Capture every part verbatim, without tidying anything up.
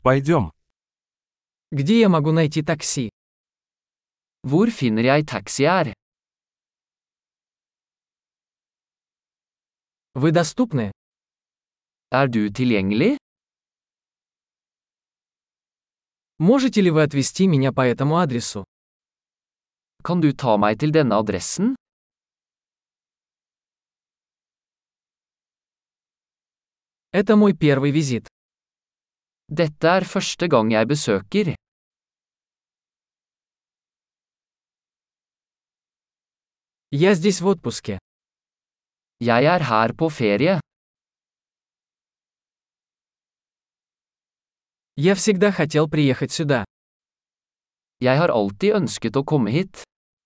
Пойдем. Где я могу найти такси? Hvor finner jeg taxi her? Вы доступны? Er du tilgjengelig? Можете ли вы отвезти меня по этому адресу? Kan du ta meg til denne adressen? Это мой первый визит. Dette er første gang jeg besøker. Я здесь в отпуске. Jeg er her på ferie. Я всегда хотел приехать сюда. Jeg har alltid ønsket å komme hit.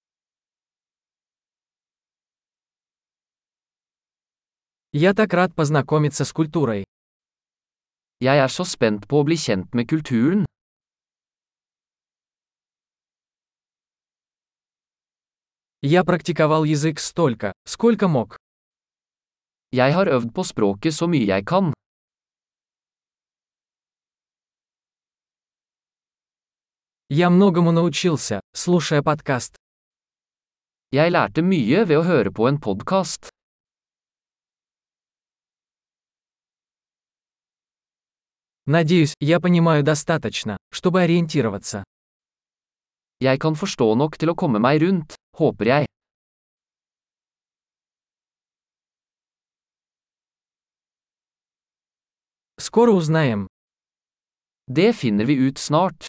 Я так рад познакомиться с культурой. Jeg er så spent på å bli kjent med kulturen. Я практиковал язык столько, сколько мог. Jeg har øvd på språket så mye jeg kan. Я многому научился, слушая подкаст. Jeg lærte mye ved å høre på en podcast. Надеюсь, я понимаю достаточно, чтобы ориентироваться. Jeg kan forstå nok til å komme meg rundt, håper jeg. Скоро узнаем. Det finner vi ut snart.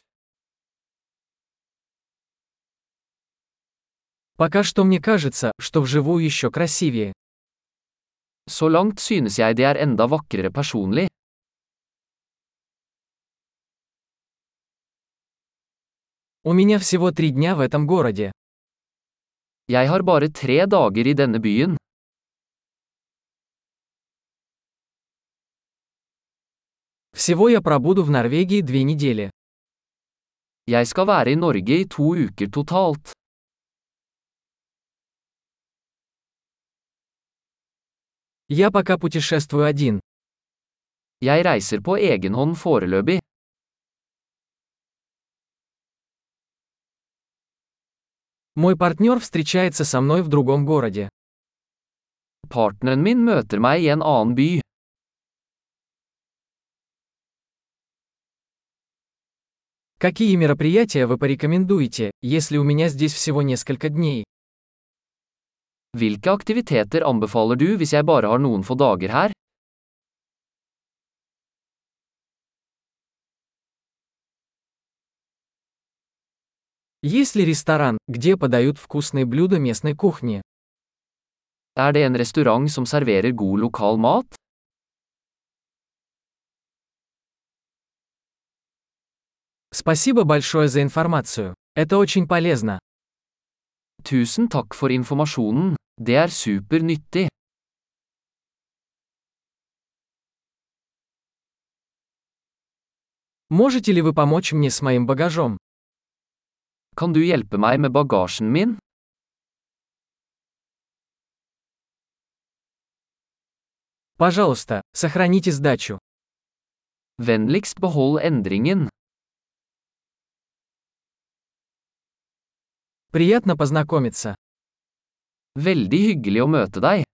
Пока что мне кажется, что вживую еще красивее. Så langt synes jeg det er enda vakrere personlig. У меня всего три дня в этом городе. Jeg har bare tre dager i denne byen. Всего я пробуду в Норвегии две недели. Jeg skal være i Norge i to uker totalt. Я пока путешествую один. Jeg reiser på egen hånd foreløpig. Мой партнер встречается со мной в другом городе. Partneren min møter meg i en annen by. Какие мероприятия вы порекомендуете, если у меня здесь всего несколько дней? Hvilke aktiviteter anbefaler du hvis jeg bare har noen få dager her? Есть ли ресторан, где подают вкусные блюда местной кухни? Er det en restaurant som serverer god lokal mat? Спасибо большое за информацию. Это очень полезно. Tusen takk for informasjonen. Det er super nyttig. Можете ли вы помочь мне с моим багажом? Kan du hjelpe meg med bagasjen min? Пожалуйста, сохраните сдачу. Vennligst behold endringen. Приятно познакомиться. Veldig hyggelig å møte deg.